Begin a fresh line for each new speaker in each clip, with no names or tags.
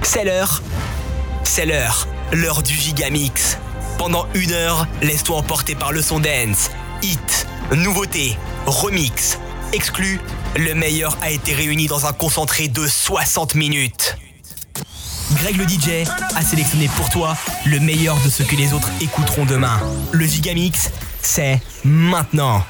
C'est l'heure. C'est l'heure du Gigamix. Pendant 1 heure, laisse-toi emporter par le son dance. Hit, nouveauté, remix, exclu. Le meilleur a été réuni dans un concentré de 60 minutes. Greg le DJ a sélectionné pour toi le meilleur de ce que les autres écouteront demain. Le Gigamix, c'est maintenant.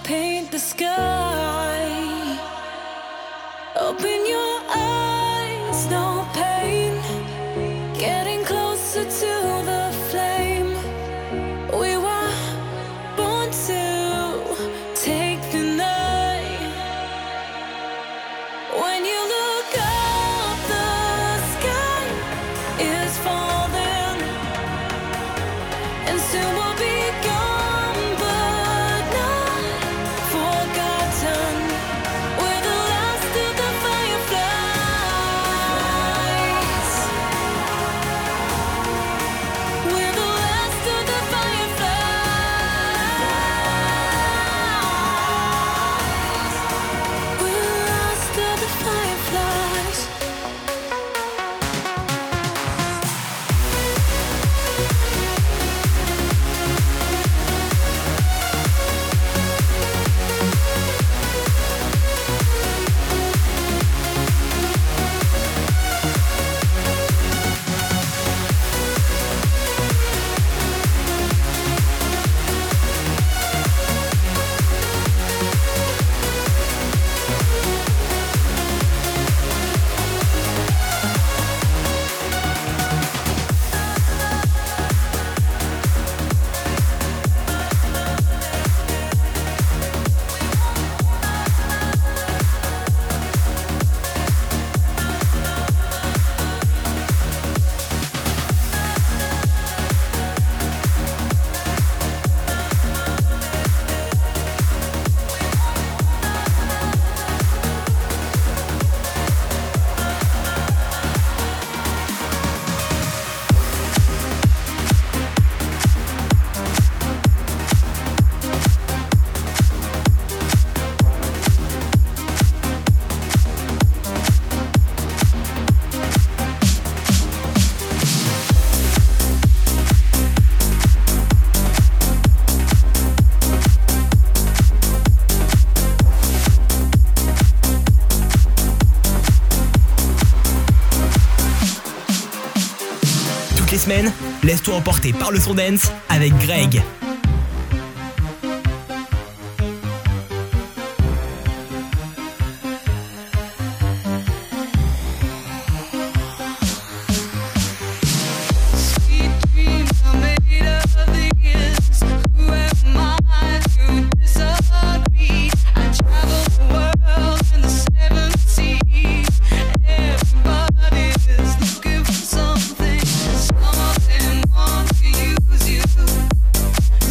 paint the sky. Open your eyes, no pain. Getting closer to the flame. We were born to take the night. When you look up, the sky is falling, and soon we'll be gone, but not forgotten. We're the last of the fireflies. We're the last of the fireflies. We're the last of the fireflies.
Toutes les semaines, laisse-toi emporter par le son dance avec Greg.
Sweet dreams are made of this. Who am I to disagree? I travel the world and the seven seas. Everybody is looking for something. Some of them want to use you.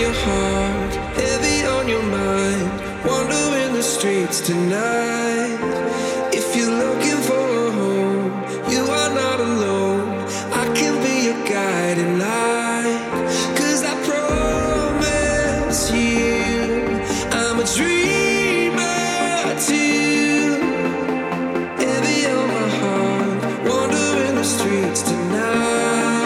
your heart, heavy on your mind, wandering the streets tonight. If you're looking for a home, you are not alone. I can be your guiding light. 'Cause I promise you, I'm a dreamer too. Heavy on my heart, wandering the streets tonight.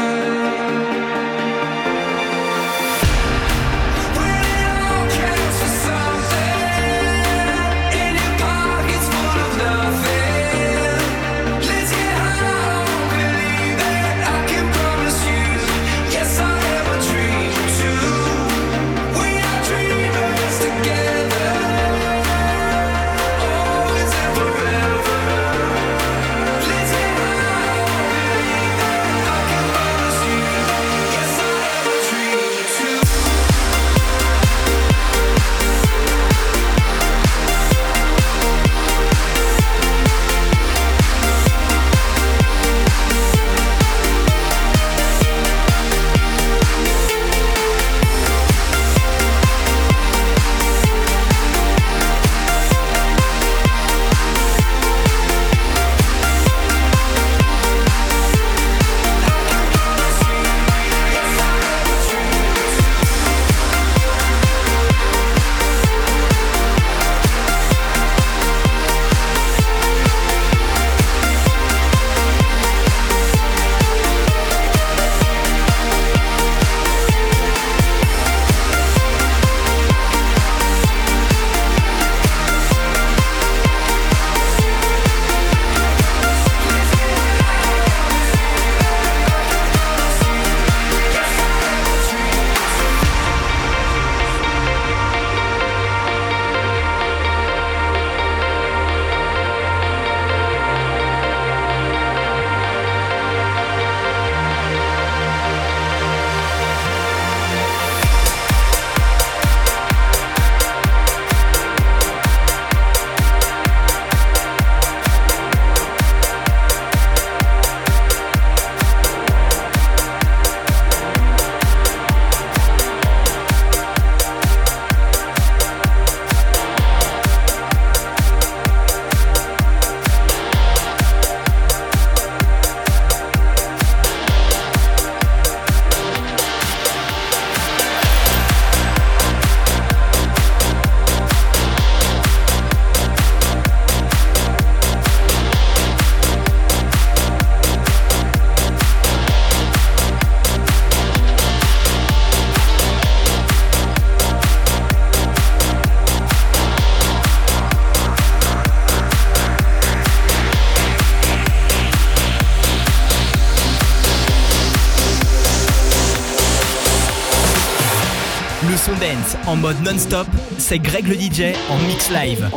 Dance en mode non-stop, c'est Greg le DJ en mix live.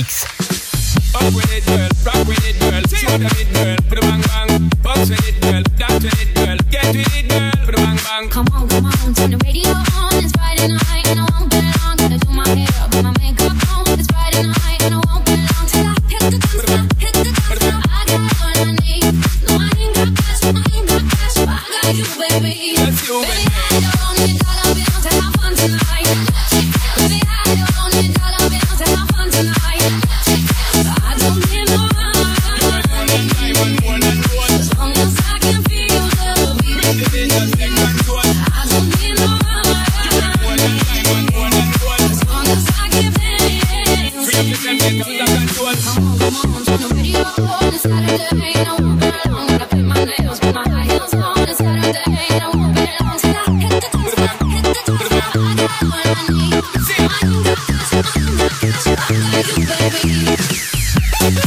Gigamix.
Up with it, girl. Rock with it, girl. Show them it, girl. Put a bang bang. Bounce with it, girl. Dance with it, girl. Get with it, girl. Put a bang bang.
Come on, turn the radio on. It's Friday night and I won't be long. Gotta do my hair up, put my makeup on. It's Friday night and I won't be long till I hit the dance floor, hit the dance floor. I got what I need. No, I ain't got cash, but I got you, baby.
That's you,
Baby,
baby.
I don't need dollar bills to have fun tonight. Baby, I don't need dollar bills to have fun tonight. I don't need no
More than gold.
as long as I can feel the beat.
Baby, just take control.
I don't need no
More than diamond, more than gold.
as long as I can dance.
Free up yourself, get under control.
Come on, turn the radio on. It's Saturday and I won't be long. Gotta paint my nails, put my high heels on. It's Saturday and I won't be long till I hit the dance floor, hit the dance floor. I got what I need. I ain't got cash, but I got you, baby.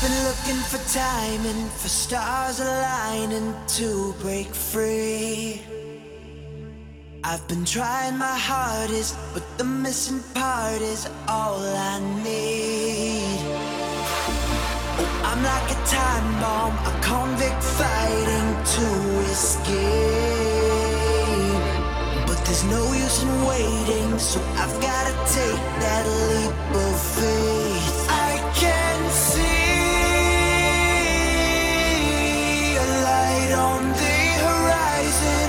been looking for time and for stars aligning to break free. I've been trying my hardest, but the missing part is all I need. I'm like a time bomb, a convict fighting to escape. But there's no use in waiting, so I've gotta take that leap of faith. I can see a light on the horizon.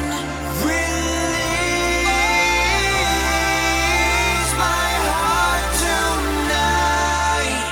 Release my heart tonight.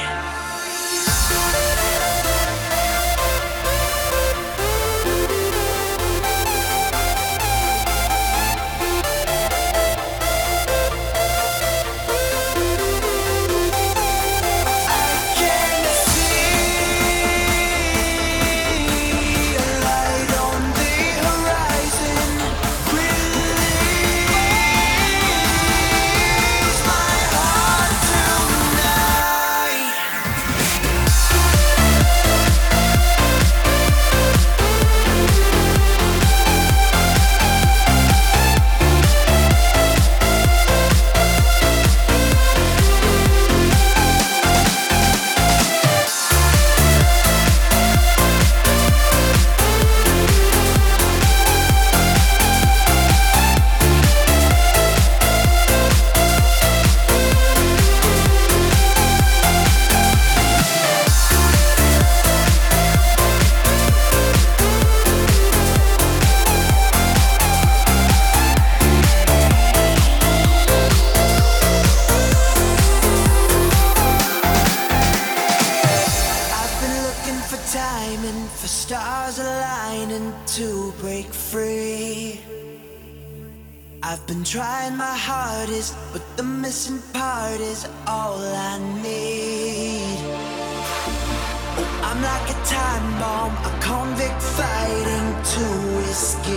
I've been trying my hardest, but the missing part is all I need. I'm like a time bomb, a convict fighting to escape.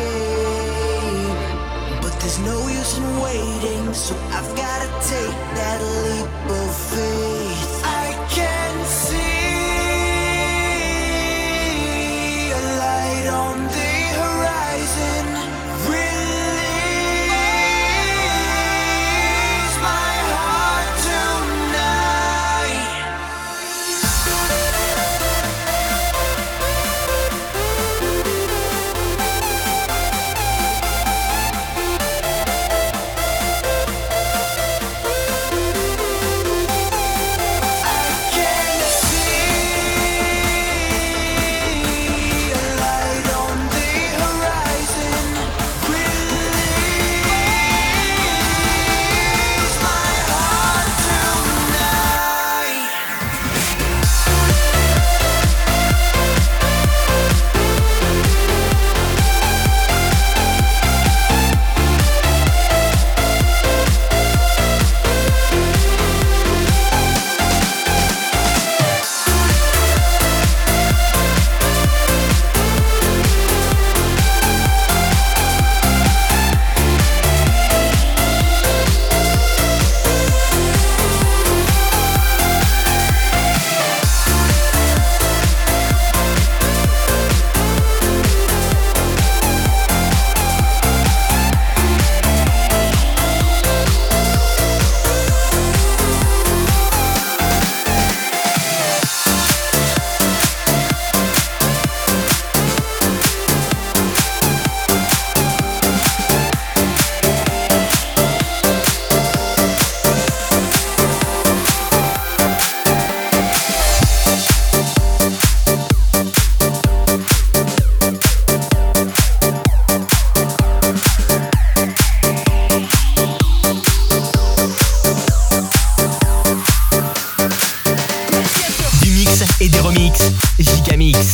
But there's no use in waiting, so I've gotta take that leap of faith. I can see a light on the horizon. Release my heart tonight.
Et des remixes, Gigamix.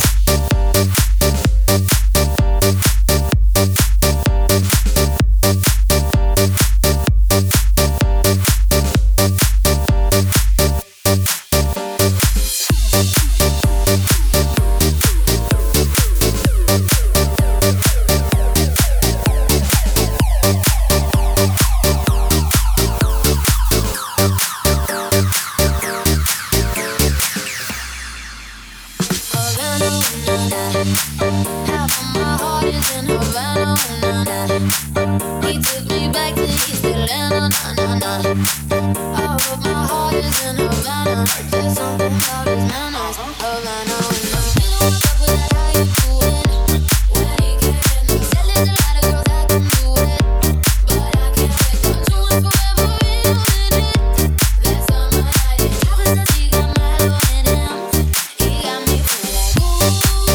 Half of my heart is in Havana, na na. He took me back to East Atlanta, na na na. Half of my heart is in Havana. There's something about his manners, Havana, na. What's up with that? How you doing? Where he came, he said there's a lot of girls that can do it, but I can't wait. Don't you want forever real in it? That's on my night. Travis says he got my love in him. He got me feeling like ooh.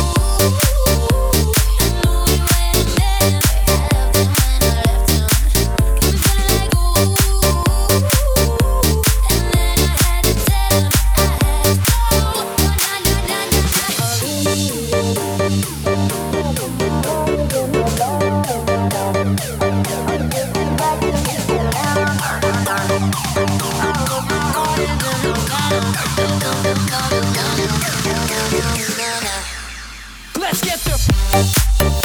I knew we were in bed. I loved him when I left him. I'm feeling like ooh. And then I had to tell him I had to go. Na na na na
Let's get the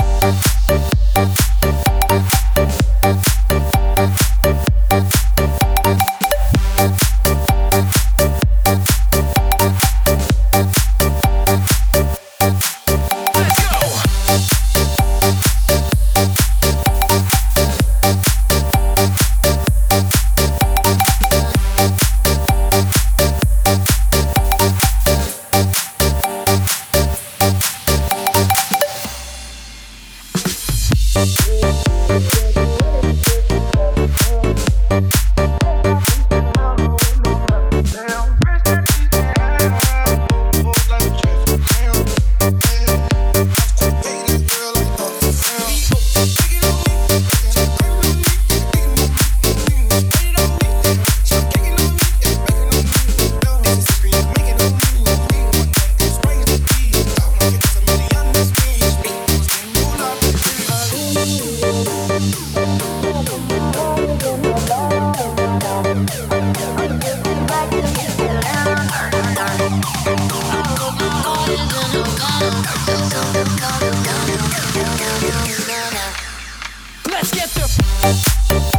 Let's get the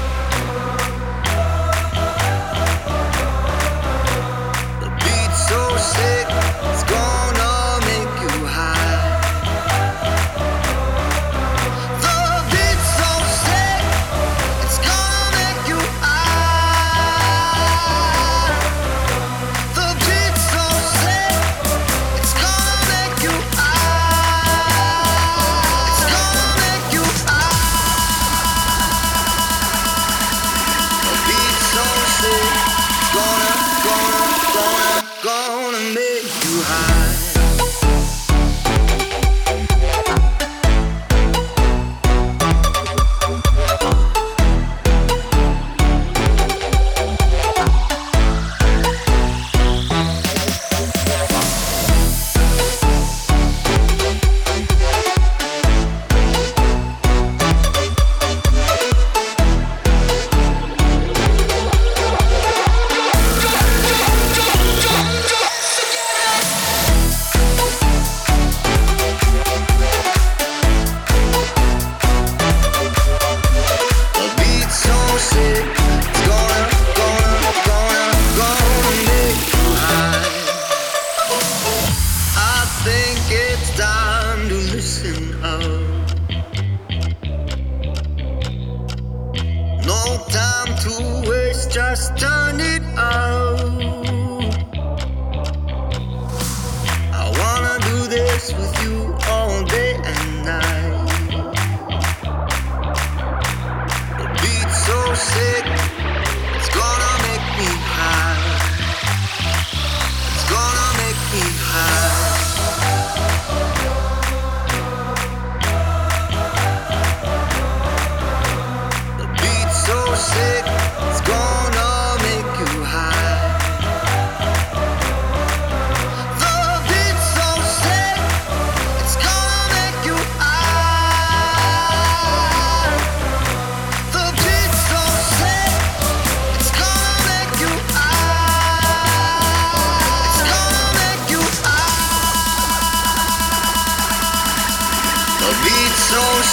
So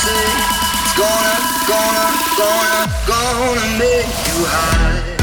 say it's gonna make you high.